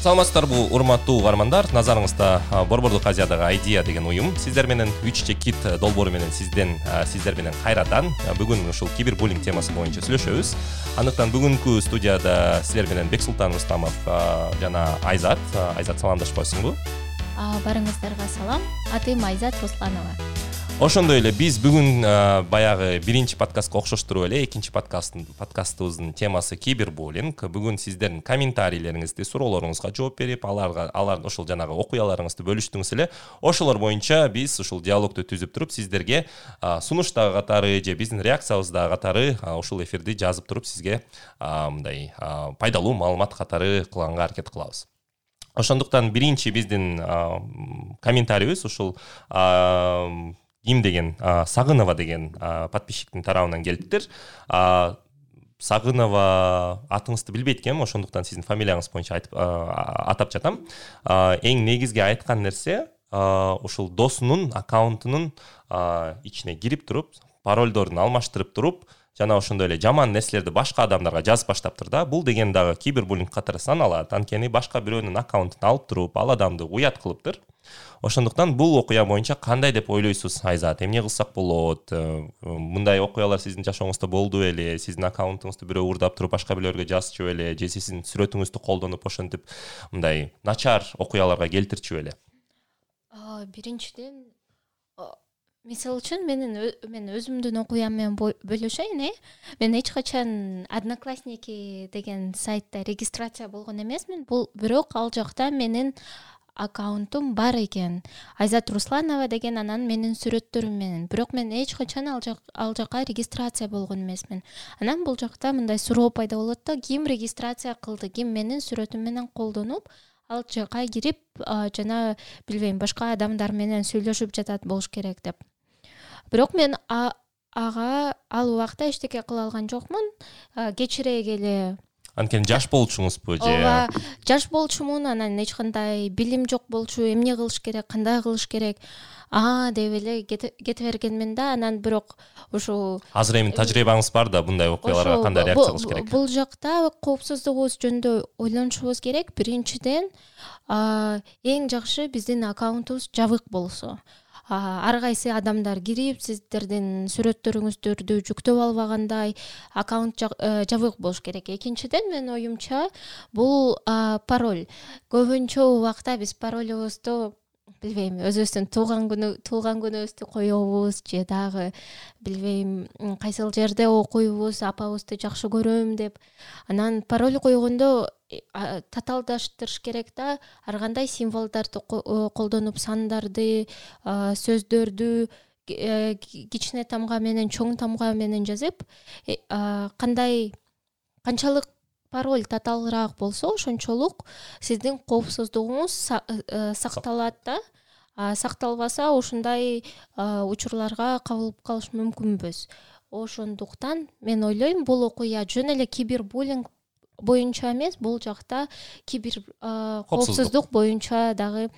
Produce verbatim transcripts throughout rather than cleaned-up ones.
Саламатсыздарбы урматтуу угармандар, назарыңызда Борбордук Азиядагы Idea деген уюм сиздер менен үч чекит долбоору менен сизден сиздер менен кайрадан бүгүн ушул кибербуллинг темасы боюнча сүйлөшөбүз. Андыктан бүгүнкү студияда сиздер менен Бексултан Рустамов жана Айзат. Айзат, саламдашпайсыңбы? Барыңыздарга салам. Атым Айзат Русланова. Ошондой эле биз бүгүн баягы биринчи подкастка окшоштуруп эле экинчи подкасттын подкастыбыздын темасы кибербуллинг. Бүгүн сиздердин комментарийлериңизди, суроолоруңузга жооп берип, аларга алар ошол жанагы окуяларыңызды бөлүштүңүз эле. Ошолор боюнча биз ушул диалогду түзүп туруп сиздерге сунуштагы катары же биздин реакциябыздагы катары ушул эфирди жазып туруп сизге мындай пайдалуу маалымат катары кылганга аракет кылабыз. Ошондуктан биринчи биздин комментарийибиз ушул Ким деген Сагынова деген подписчиктин тарабынан келиптир. Сагынова атыңызды билбейт экенмин, ошондуктан сиздин фамилияңыз боюнча айтып атап жатам. Эң негизги айткан нерсе ушул досунун аккаунтунун ичине кирип туруп, паролдорун алмаштырып туруп, жана ошондой эле жаман нерселерди башка адамдарга жазып баштаптыр да. Бул деген дагы кибербуллинг катары саналат. Анткени башка бирөөнүн аккаунтун алып туруп, ал адамды уят кылыптыр. Ошондуктан бул окуя боюнча кандай деп ойлойсуз, Айзат? Эмне кылсак болот? Мындай окуялар сиздин жашооңузда болду беле? Сиздин аккаунтуңузду бирөө урдап туруп башка бирөөлөргө жазчу беле? Же сиздин сүрөтүңүздү колдонуп ошентип мындай начар окуяларга келтирчү беле? Биринчиден, мисалы үчүн менин мен өзүмдүн окуям менен бөлүшөйүн, э? Мен эч качан Одноклассники деген сайтта регистрация болгон эмесмин. Бул бирок ал жакта менин аккаунтум бар экен. Айзат Русланова деген анан менин сүрөттөрүм менен. Бирок мен эч качан ал жак ал жакка регистрация болгон эмесмин. Анан бул жакта мындай суроо пайда болот да, ким регистрация кылды, ким менин сүрөтүм менен колдонуп, ал жакка кирип, жана билбейм, башка адамдар менен сүйлөшүп жатат болуш керек деп. Бирок мен ага ал убакта эчтеке кыла алган жокмун. Кечирээк эле Анткени жаш болчуңузбу же? Ооба, жаш болчумун, анан эч кандай билим жок болчу, эмне кылыш керек, кандай кылыш керек, а деп эле кете бергенмин да. Анан бирок ушул азыр эми тажрыйбаңыз бар да, bunday окуяларга кандай реакция кылыш керек? Бул жакта коопсуздугубуз жөнүндө ойлонушубуз керек. Биринчиден, эң жакшы биздин аккаунтубуз жабык болсо. Ар кайсы адамдар кирип, сиздердин сүрөттөрүңүздөрдү жүктөп албагандай аккаунт жабык болуш керек. Экинчиден, мен оюмча, бул пароль. Көбүнчө убакта биз паролубузду билбейм, өзүбүздүн туулган күнү туулган күнүбүздү коебуз, же дагы билбейм, кайсыл жерде окуйбуз, апабызды жакшы көрөм деп. Анан пароль койгондо татаалдаштырыш керек да, ар кандай символдорду колдонуп, сандарды, сөздөрдү кичине тамга менен, чоң тамга менен жазып, кандай канчалык пароль татаалыраак болсо, ошончолук сиздин коопсуздугуңуз сакталат да. Сакталбаса, ушундай учурларга кабылып калыш мүмкүнбүз. Ошондуктан мен ойлойм, бул окуя жөн эле кибербуллинг боюнча эмес, бул жакта кибер коопсуздук боюнча дагы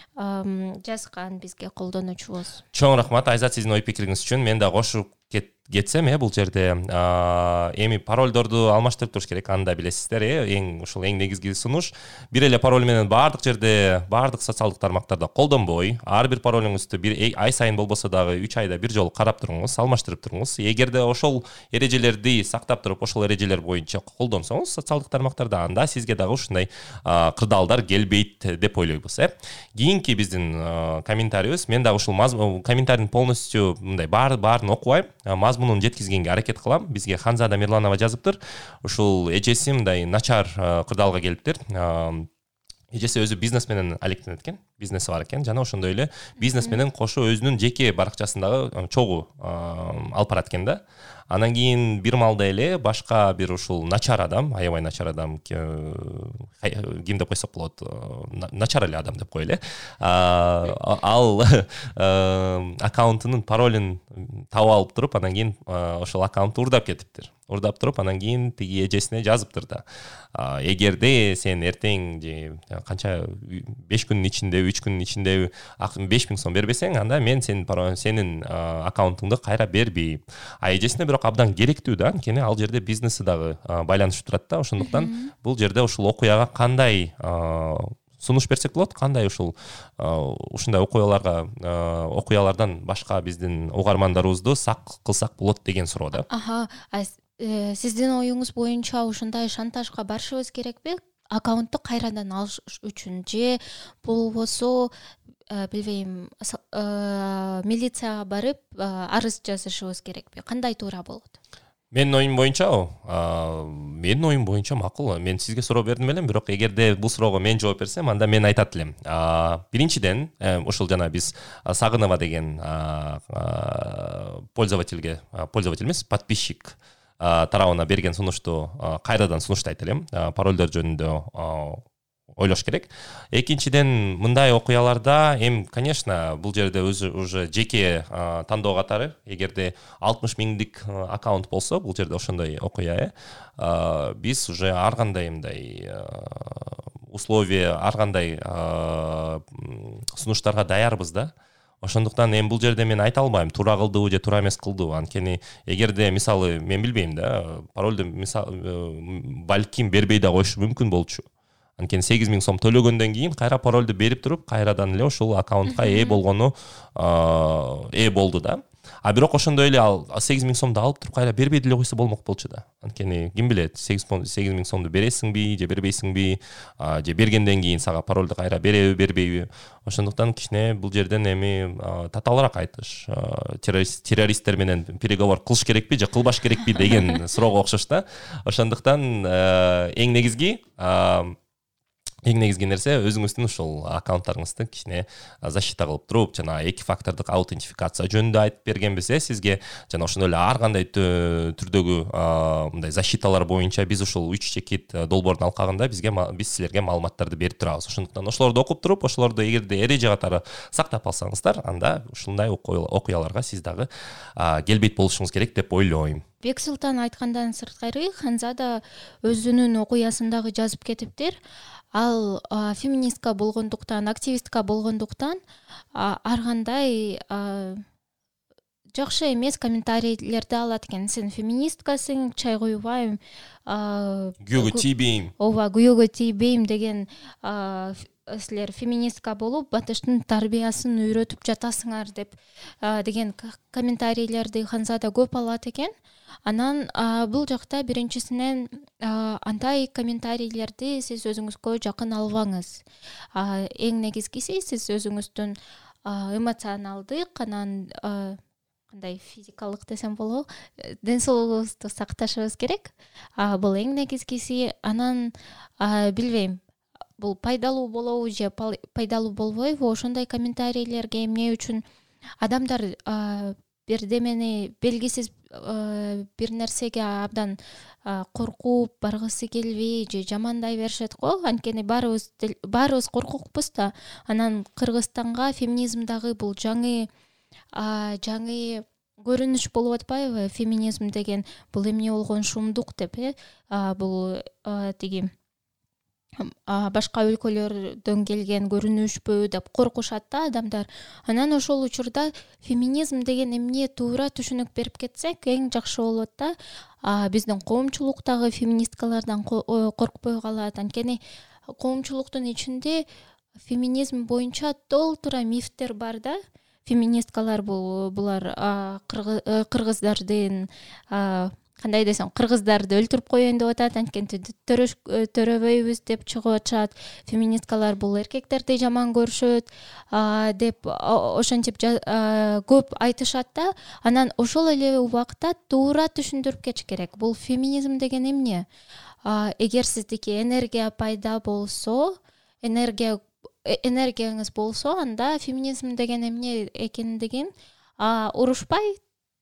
жазган бизге колдонуучубуз. Чоң рахмат, Айзат, сиздин ой пикириңиз үчүн. Мен да кошуп кетсем, э, бул жерде эми паролдорду алмаштырып туруш керек, аны да билесиздер, э, эң ушул эң негизги сунуш. Бир эле пароль менен баардык жерде, баардык социалдык тармактарда колдонбой, ар бир паролуңузду бир ай сайын болбосо дагы үч айда бир жолу карап туруңуз, алмаштырып туруңуз. Эгерде ошол эрежелерди сактап туруп, ошол эрежелер боюнча колдонсоңуз социалдык тармактарда, анда сизге дагы ушундай кырдаалдар келбейт деп ойлойбуз, э. Кийинки биздин комментарийибиз, мен дагы ушул комментарийдин полностью мындай баарын окубайм, мазмунун жеткизгенге аракет кылам. Бизге Ханзада Мирланова жазыптыр. Ушул эжеси мындай начар кырдаалга келиптир. Эжеси өзү бизнес менен алектенет экен, бизнеси бар экен, жана ошондой эле бизнес менен кошо өзүнүн жеке баракчасындагы чогуу алып барат экен да. Анан кийин бир маалда эле башка бир ушул начар адам, аябай начар адам, ким деп койсок болот, начар эле адам деп коелу, ал аккаунтунун паролун таап алып туруп, анан кийин ошол аккаунтту урдап кетиптир. Урдап туруп, анан кийин тиги эжесине жазыптыр да. Эгерде сен эртең же канча беш күнүн ичинде, үч күнүн ичинде беш миң сом бербесең, анда мен сенин сенин аккаунтуңду кайра бербейм. А эжесине бирок абдан керектүү да, анткени ал жерде бизнеси дагы байланышып турат да. Ошондуктан бул жерде ушул окуяга кандай сунуш берсек болот, кандай ушул ушундай окуяларга окуялардан башка биздин угармандарыбызды сак кылсак болот деген суроо да. Аха, сиздин оюңуз боюнча ушундай шантажга барышыбыз керекпи? Аккаунтту кайрадан алыш үчүн же болбосо билбейм, милицияга барып арыз жазышыбыз керекпи? Кандай туура болот? Менин оюм боюнча, менин оюм боюнча макул. Мен сизге суроо бердим элем, бирок эгерде бул суроого мен жооп берсем, анда мен айтат элем. Биринчиден, ушул жана биз Сагынова деген пользовательге, пользователь эмес, подписчик тарабына берген сунушту кайрадан сунуштайт элем. Паролдор жөнүндө ойлош керек. Экинчиден, мындай окуяларда эми, конечно, бул жерде өзү уже жеке тандоо катары, эгерде алтымыш миңдик аккаунт болсо, бул жерде ошондой окуя, биз уже ар кандай мындай условия, ар кандай сунуштарга даярбыз да. Ошондуктан эми бул жерде мен айта албайм, туура кылдыбы же туура эмес кылдыбы. Анткени эгерде мисалы мен билбейм да, паролду мисалы балким бербей да коюшу мүмкүн болчу. Анткени сегиз миң сом төлөгөндөн кийин кайра паролду берип туруп, кайрадан эле ушул аккаунтка ээ болгону ээ болду да. А бирок ошондой эле ал сегиз миң сомду алып туруп кайра бербей деле койсо болмок болчу да. Анткени ким билет, сегиз миң сомду бересиңби же бербейсиңби, же бергенден кийин сага паролду кайра береби, бербейби. Ошондуктан кичине бул жерден эми татаалыраак айтыш, террористтер менен переговор кылыш керекпи же кылбаш керекпи деген суроого окшош да. Ошондуктан эң негизги Эң негизги нерсе өзүңүздүн ушул аккаунттарыңызды кичине защита кылып туруп, жана эки фактордук аутентификация жөнүндө айтып бергенбиз, сизге жана ошондой эле ар кандай түрдөгү мындай защиталар боюнча биз ушул үч чекит долбоордун алкагында бизге биз силерге маалыматтарды берип турабыз. Ошондуктан ошолорду окуп туруп, ошолорду эгерде эреже катары сактап алсаңыздар, анда ушундай окуяларга сиз дагы келбейт болушуңуз керек деп ойлойм. Бексултан айткандан сырткары, Ханзада өзүнүн окуясындагы жазып кетиптир. Ал феминистка болгондуктан, активистка болгондуктан ар кандай жакшы эмес комментарийлерди алат экен. Сен феминисткасың, чай куйбайм, күйөөгө тийбейм. Ооба, күйөөгө тийбейм деген силер феминистка болуп, батыштын тарбиясын үйрөтүп жатасыңар деп деген комментарийлерди Ханзада көп алат экен. Анан бул жакта биринчисинен андай комментарийлерди сиз өзүңүзгө жакын албаңыз. Эң негизгиси сиз өзүңүздүн эмоционалдык, анан кандай физикалык десем болобу, ден соолугубузду сакташыбыз керек. Бул эң негизгиси. Анан билбейм, бул пайдалуу болобу же пайдалуу болбойбу, ошондой комментарийлерге эмне үчүн адамдар бирдемени белгисиз бир нерсеге абдан коркуп баргысы келбей же жамандай беришет го. Анткени баарыбыз баарыбыз коркокпуз да. Анан Кыргызстанга феминизмдагы бул жаңы жаңы көрүнүш болуп атпайбы? Феминизм деген бул эмне болгон шумдук деп, э бул тиги башка өлкөлөрдөн келген көрүнүшпү деп коркушат да адамдар. Анан ошол учурда феминизм деген эмне туура түшүнүк берип кетсек эң жакшы болот да. Биздин коомчулуктагы феминисткалардан коркпой калат. Анткени коомчулуктун ичинде феминизм боюнча толтура мифтер бар да. Феминисткалар бул булар кыргыздардын кандай десем, кыргыздарды өлтүрүп коеюн деп атат, анткени төрөбөйбүз деп чыгып атышат. Феминисткалар бул эркектерди жаман көрүшөт деп ошентип көп айтышат да. Анан ошол эле убакта туура түшүндүрүп кетиш керек. Бул феминизм деген эмне? Эгер сиздики энергия пайда болсо, энергия энергияңыз болсо, анда феминизм деген эмне экендигин урушпай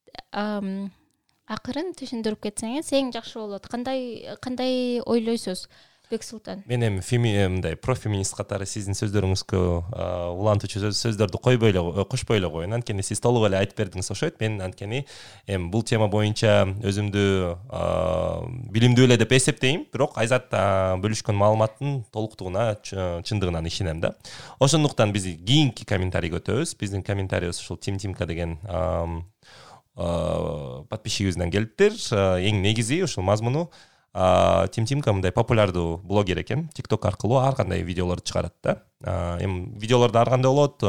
акырын түшүндүрүп кетсеңиз эң жакшы болот. Кандай кандай ойлойсуз, Бексултан? Мен эми мындай профеминист катары сиздин сөздөрүңүзгө улантуучу сөздөрдү койбой эле кошпой эле коеюн. Анткени сиз толук эле айтып бердиңиз окшойт. Мен анткени эми бул тема боюнча өзүмдү билимдүү эле деп эсептейм, бирок Айзат бөлүшкөн маалыматтын толуктугуна, чындыгынан ишенем да. Ошондуктан биз кийинки комментарийге өтөбүз. Биздин комментарийибиз ушул Тим Тимка деген подписчигибизден келиптир. Эң негизи ушул мазмуну Тим Тимка мындай популярдуу блогер экен. TikTok аркылуу ар кандай видеолорду чыгарат да. Эми видеолорду ар кандай болот,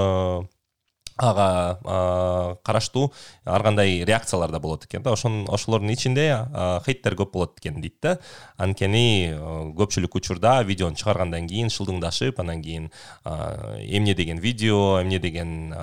ага караштуу ар кандай реакциялар да болот экен да. Ошон ошолордун ичинде хейттер көп болот экен дейт да. Анткени көпчүлүк учурда видеону чыгаргандан кийин шылдыңдашып, анан кийин эмне деген видео, эмне деген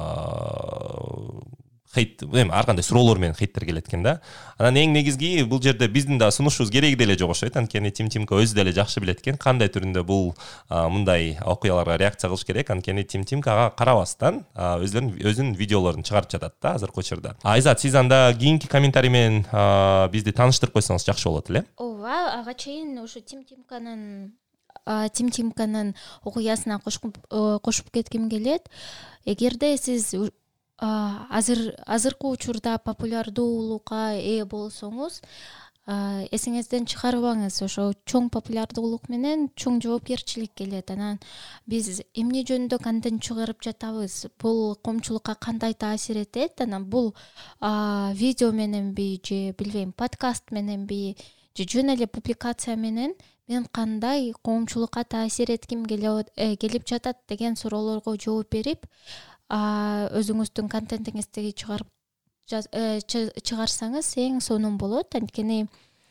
хейт, эми ар кандай суроолор менен хейттер келет экен да. Анан эң негизги бул жерде биздин да сунушубуз кереги деле жок окшойт. Анткени Тим Тимка өзү деле жакшы билет экен кандай түрүндө бул мындай окуяларга реакция кылыш керек. Анткени Тим Тимкага карабастан өзүнүн өзүнүн видеолорун чыгарып жатат да азыркы учурда. Айзат, сиз анда кийинки комментарий менен бизди тааныштырып койсоңуз жакшы болот эле. Ооба, ага чейин ушу Тим Тимканын Тим Тимканын окуясына кошуп кетким келет. Эгерде сиз азыр азыркы учурда популярдуулукка ээ болсоңуз, эсиңизден чыгарбаңыз. Ошо чоң популярдуулук менен чоң жоопкерчилик келет. Анан биз эмне жөнүндө контент чыгарып жатабыз, бул коомчулукка кандай таасир этет? Анан бул видео мененби же билбейм подкаст мененби же жөн эле публикация менен мен кандай коомчулукка таасир этким келип жатат деген суроолорго жооп берип, өзүңүздүн контентиңизди чыгарып чыгарсаңыз эң сонун болот. Анткени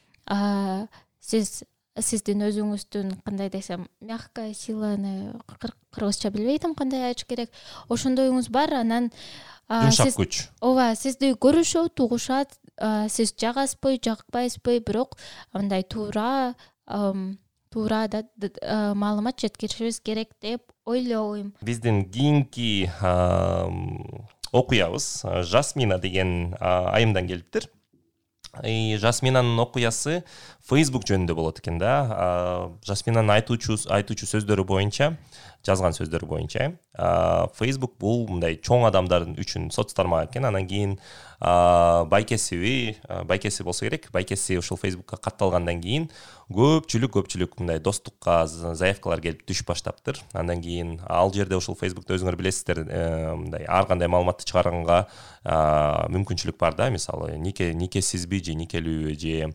сиз сиздин өзүңүздүн кандай десем, мягкая силаны кыргызча билбейм кандай айтыш керек, ошондоюңуз бар. Анан жумшак күч. Ооба, сизди көрүшөт, угушат, сиз жагасызбы, жакпайсызбы, бирок мындай туура туура да маалымат жеткиришибиз керек деп ойлойм. Биздин кийинки окуябыз Жасмина деген айымдан келиптир. Жасминанын окуясы Facebook жөнүндө болот экен да. Жасминанын айтуучу айтуучу сөздөрү боюнча, жазган сөздөрү боюнча, Facebook бул мындай чоң адамдардын үчүн соц тармак экен. Анан кийин байкесиби, байкеси болсо керек, байкеси ушул Facebookка катталгандан кийин көпчүлүк көпчүлүк мындай достукка заявкалар келип түшүп баштаптыр. Андан кийин ал жерде ушул Facebook'та өзүңөр билесиздер, мындай ар кандай маалыматты чыгарганга мүмкүнчүлүк бар да. Мисалы, нике никесизби же никелүүбү же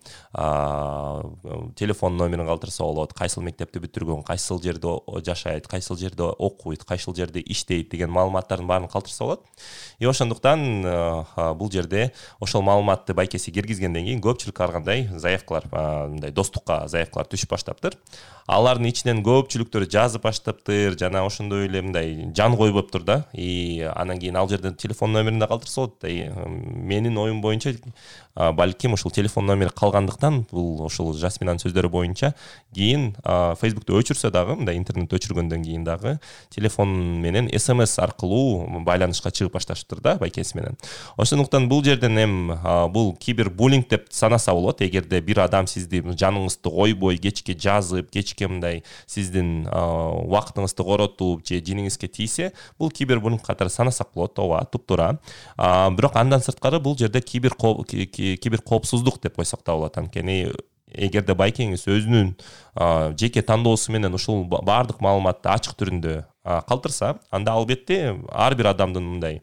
телефон номерин калтырса болот, кайсыл мектепти бүтүргөн, кайсыл жерде жашайт, кайсыл жерде окуйт, кайсыл жерде иштейт деген маалыматтардын баарын калтырса болот. И ошондуктан бул жерде ошол маалыматты байкеси киргизгенден кийин көпчүлүк ар кандай заявкалар, мындай достукка заявкалар түшүп баштаптыр. Алардын ичинен көпчүлүктөрү жазып баштаптыр, жана ошондой эле мындай жан коюп болуптур да. И анан кийин ал жерден телефон номерин да калтырса болот. Менин оюм боюнча балким ушул телефон номери калгандыктан бул ушул Жасминанын сөздөрү боюнча кийин Facebook'ты өчүрсө дагы, мындай интернет өчүргөндөн кийин дагы телефон менен эс эм эс аркылуу байланышка чыгып башташыптыр да байкеси менен. Ошондуктан бул жерден эм бул кибербуллинг деп санаса болот. Эгерде бир адам сизди жаныңызды койбой кечке жазып, кечке мындай сиздин убактыңызды коротуп же жиниңизге тийсе, бул кибербуллинг катары санасак болот. Ооба, туптуура. Бирок андан сырткары бул жерде кибер кибер коопсуздук деп койсок да болот. Анткени эгерде байкеңиз өзүнүн жеке тандоосу менен ушул баардык маалыматты ачык түрүндө калтырса, анда албетте ар бир адамдын мындай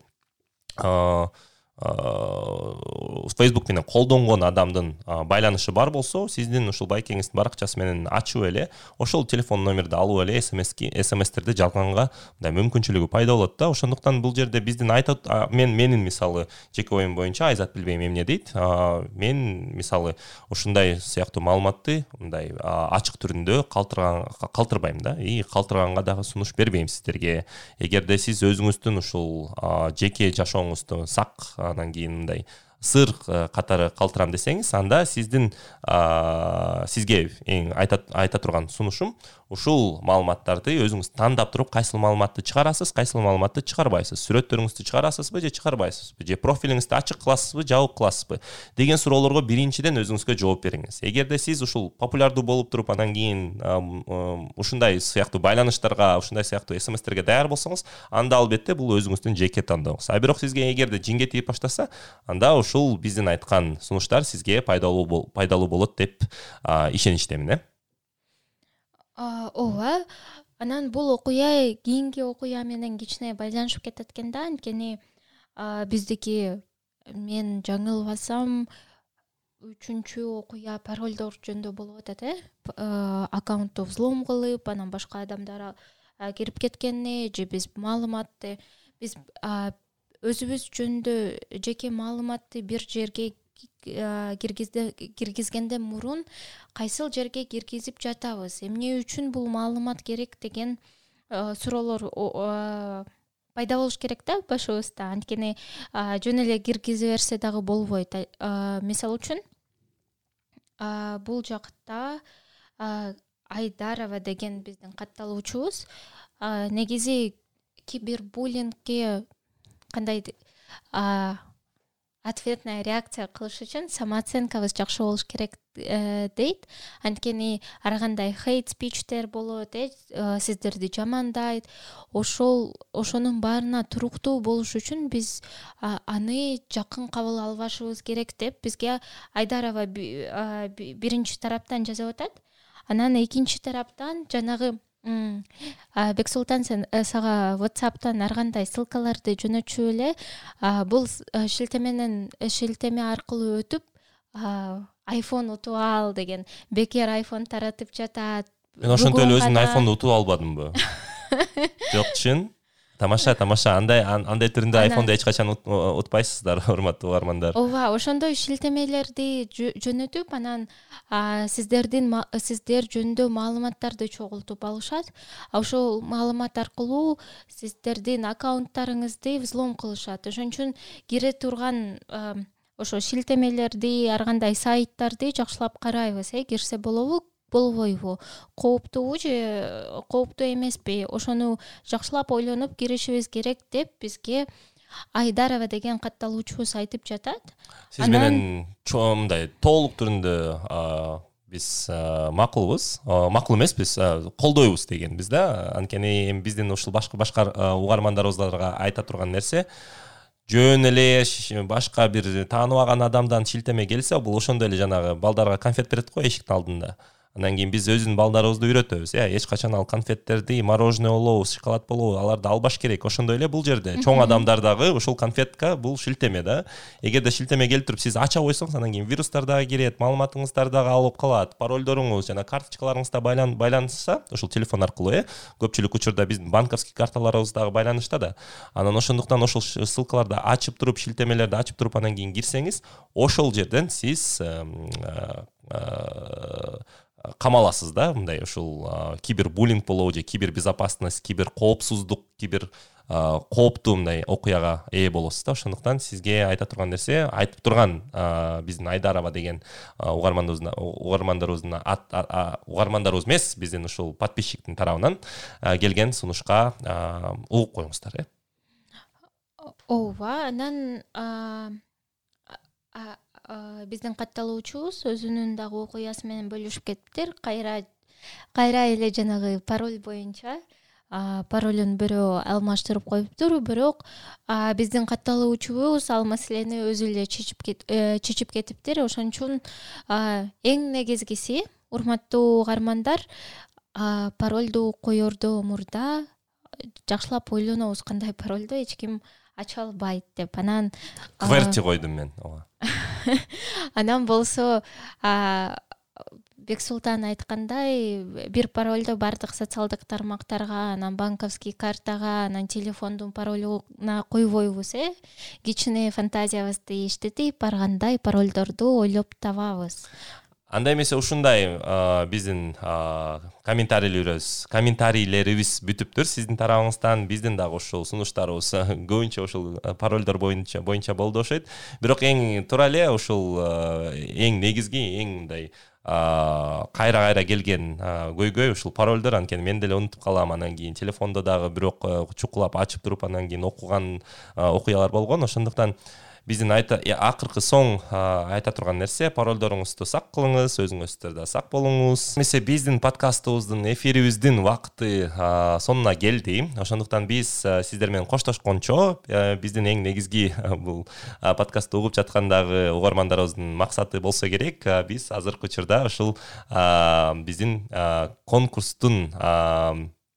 Facebook менен колдонгон адамдын байланышы бар болсо, сиздин ушул байкеңиздин баракчасы менен ачып эле ошол телефон номерди алып эле эс эм эстерди жалганга мындай мүмкүнчүлүгү пайда болот да. Ошондуктан бул жерде биздин айтат мен менин мисалы жеке оюм боюнча, Айзат билбейм эмне дейт, мен мисалы ушундай сыяктуу маалыматты мындай ачык түрүндө калтырган калтырбайм да. И калтырганга дагы сунуш бербейм сиздерге. Эгерде сиз өзүңүздүн ушул жеке жашооңузду сак, анан кийин мындай сыр катары калтырам десеңиз, анда сиздин сизге эң айта айта турган сунушум ушул маалыматтарды өзүңүз тандап туруп, кайсыл маалыматты чыгарасыз, кайсыл маалыматты чыгарбайсыз, сүрөттөрүңүздү чыгарасызбы же чыгарбайсызбы, же профилиңизди ачык кыласызбы, жабык кыласызбы деген суроолорго биринчиден өзүңүзгө жооп бериңиз. Эгерде сиз ушул популярдуу болуп туруп, анан кийин ушундай сыяктуу байланыштарга, ушундай сыяктуу эс эм эстерге даяр болсоңуз, анда албетте бул өзүңүздүн жеке тандооңуз. А бирок сизге эгерде жинге тийип баштаса, анда ушул биздин айткан сунуштар сизге пайдалуу пайдалуу болот деп ишеничтемин, э? Ооба, анан бул окуя кийинки окуя менен кичине байланышып кетет экен да. Анткени биздики мен жаңылбасам үчүнчү окуя паролдор жөнүндө болуп атат, э аккаунтту взлом кылып, анан башка адамдар кирип кеткени же биз маалыматты биз өзүбүз жөнүндө жеке маалыматты бир жерге киргизгенден мурун кайсыл жерге киргизип жатабыз, эмне үчүн бул маалымат керек деген суроолор пайда болуш керек да башыбызда. Анткени жөн эле киргизе берсе дагы болбойт. Мисалы үчүн бул жакта Айдарова деген биздин катталуучубуз негизи кибербуллингге кандай ответная реакция кылыш үчүн самооценкабыз жакшы болуш керек дейт. Анткени ар кандай хейт спичтер болот, э сиздерди жамандайт. Ошол ошонун баарына туруктуу болуш үчүн биз аны жакын кабыл албашыбыз керек деп бизге Айдарова биринчи тараптан жазып атат. Анан экинчи тараптан жанагы Бексултан, сен сага WhatsApp'тан ар кандай ссылкаларды жөнөтчү эле бул шилтеменен шилтеме аркылуу өтүп iPhone утуп ал деген бекер iPhone таратып жатат. Мен ошентип эле өзүмдүн iPhone'ду утуп албадымбы? Жок, чын. Тамаша, тамаша. Андай андай түрүндө iPhone'ду эч качан утпайсыздар, урматтуу угармандар. Ооба, ошондой шилтемелерди жөнөтүп, анан сиздердин сиздер жөнүндө маалыматтарды чогултуп алышат. Ошол маалымат аркылуу сиздердин аккаунттарыңызды взлом кылышат. Ошон үчүн кире турган ошо шилтемелерди, ар кандай сайттарды жакшылап карайбыз, э кирсе болобу, болбойбу, кооптуубу же кооптуу эмеспи, ошону жакшылап ойлонуп киришибиз керек деп бизге Айдарова деген катталуучубуз айтып жатат. Сиз менен мындай толук түрүндө биз макулбуз, макул эмеспиз, колдойбуз дегенбиз да. Анткени эми биздин ушул башка башка угармандарыбызга айта турган нерсе, жөн эле башка бир тааныбаган адамдан шилтеме келсе, бул ошондой эле жанагы балдарга конфет берет го эшиктин алдында. Андан кийин биз өзүнүн балдарыбызды үйрөтөбүз. Э, эч качан ал конфеттерди, мороженое болобу, шоколад болобу, аларды албаш керек. Ошондой эле бул жерде чоң адамдар дагы ушул конфетка бул шилтеме да. Эгерде шилтеме келип туруп сиз ача койсоңуз, андан кийин вирустар дагы кирет, маалыматыңыздар дагы алып калат, паролдоруңуз жана карточкаларыңыз да байланышса, ушул телефон аркылуу, э, көпчүлүк учурда биздин банковский карталарыбыз дагы байланышта да. Анан ошондуктан ошол ссылкаларды ачып туруп, шилтемелерди ачып туруп анан кийин кирсеңиз, ошол жерден сиз камаласыз да, мындай ушул кибербуллинг болобу же кибербезопасность, киберкоопсуздук, кибер кооптуу мындай окуяга ээ болосуз да. Ошондуктан сизге айта турган нерсе, айтып турган биздин Айдарова деген угармандарыбыздын угармандарыбыздын угармандарыбыз эмес, биздин ушул подписчиктин тарабынан келген сунушка угуп коюңуздар, э. Ооба, анан биздин катталуучубуз өзүнүн дагы окуясы менен бөлүшүп кетиптир. Кайра кайра эле жанагы пароль боюнча паролун бирөө алмаштырып коюптур, бирок биздин катталуучубуз ал маселени өзү эле чечип чечип кетиптир. Ошон үчүн эң негизгиси, урматтуу угармандар, паролду коердо мурда жакшылап ойлонобуз, кандай паролду эч ким ача албайт деп. Анан кверти койдум мен. Ооба. Анан болсо Бексултан айткандай, бир паролду бардык социалдык тармактарга, анан банковский картага, анан телефондун паролуна койбойбуз, э. Кичине фантазиябызды иштетип, ар кандай паролдорду ойлоп табабыз. Андай эмесе ушундай биздин комментарийлерибиз, комментарийлерибиз бүтүптүр сиздин тарабыңыздан. Биздин дагы ушул сунуштарыбыз көбүнчө ушул паролдор боюнча боюнча болду окшойт. Бирок эң туура эле ушул эң негизги, эң мындай кайра-кайра келген көйгөй ушул паролдор. Анткени мен деле унутуп калам, анан кийин телефондо дагы бирок чукулап ачып туруп анан кийин окуган окуялар болгон. Ошондуктан биздин айта акыркы соң айта турган нерсе, паролдоруңузду сак кылыңыз, өзүңүздөр да сак болуңуз. Эмесе биздин подкастыбыздын, эфирибиздин убакыты сонуна келди. Ошондуктан биз сиздер менен коштошкончо, биздин эң негизги бул подкастты угуп жаткандагы угармандарыбыздын максаты болсо керек, биз азыркы учурда ушул биздин конкурстун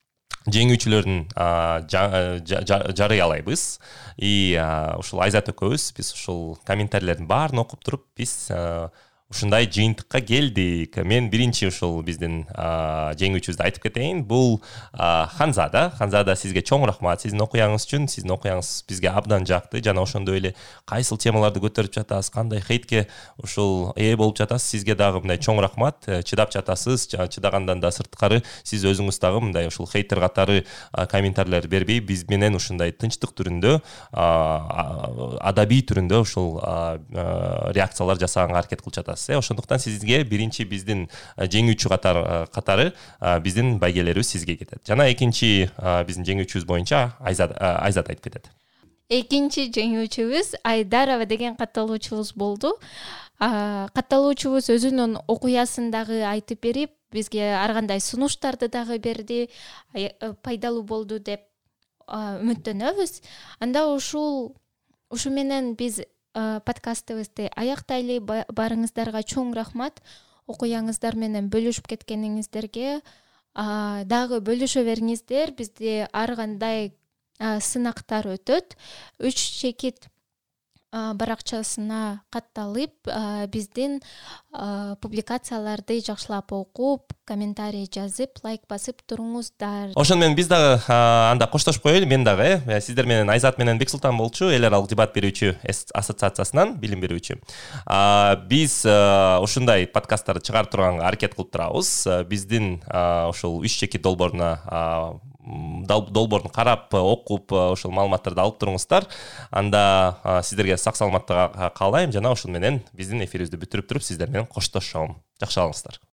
жеңүүчүлөрүн жарыялайбыз. И ушул Айзат экөөбүз биз ушул комментарийлердин баарын окуп туруп биз ушундай жыйынтыкка келдик. Мен биринчи ушул биздин жеңүүчүбүздү айтып кетейин. Бул Ханзада. Ханзада, сизге чоң рахмат сиздин окуяңыз үчүн. Сиздин окуяңыз бизге абдан жакты. Жана ошондой эле кайсыл темаларды көтөрүп жатасыз, кандай хейтке ушул ээ болуп жатасыз. Сизге дагы мындай чоң рахмат. Чыдап жатасыз. Чыдагандан да сырткары сиз өзүңүз дагы мындай ушул хейтер катары комментарийлер бербей, биз менен ушундай тынчтык түрүндө, адабий түрүндө ушул реакциялар жасаганга аракет кылып жатасыз. Ошондуктан сизге биринчи биздин жеңүүчү катары катары биздин байгелерибиз сизге кетет. Жана экинчи биздин жеңүүчүбүз боюнча Айзат Айзат айтып кетет. Экинчи жеңүүчүбүз Айдарова деген катталуучубуз болду. Катталуучубуз өзүнүн окуясын дагы айтып берип, бизге ар кандай сунуштарды дагы берди. Пайдалуу болду деп үмүттөнөбүз. Анда ушул ушу менен биз подкастыбызды аяктайлы. Барыңыздарга чоң рахмат. Окуяңыздар менен бөлүшүп кеткениңиздерге дагы бөлүшө бериңиздер. Бизде ар кандай сынактар өтөт. Үч чекит баракчасына катталып, биздин публикацияларды жакшылап окуп, комментарий жазып, лайк басып туруңуздар. Ошону менен биз дагы анда коштошуп коелу. Мен дагы сиздер менен Айзат менен Бексултан болчу, эл аралык дебат берүүчү ассоциациясынан билим берүүчү. Биз ушундай подкасттарды чыгарып турганга аракет кылып турабыз. Биздин ошол үч чекит долбооруна долбоорун карап, окуп, ошол маалыматтарды алып туруңуздар. Анда сиздерге сак саламаттык каалайм. Жана ошол менен биздин эфирибизди бүтүрүп туруп сиздер менен коштошом. Жакшы болуңуздар.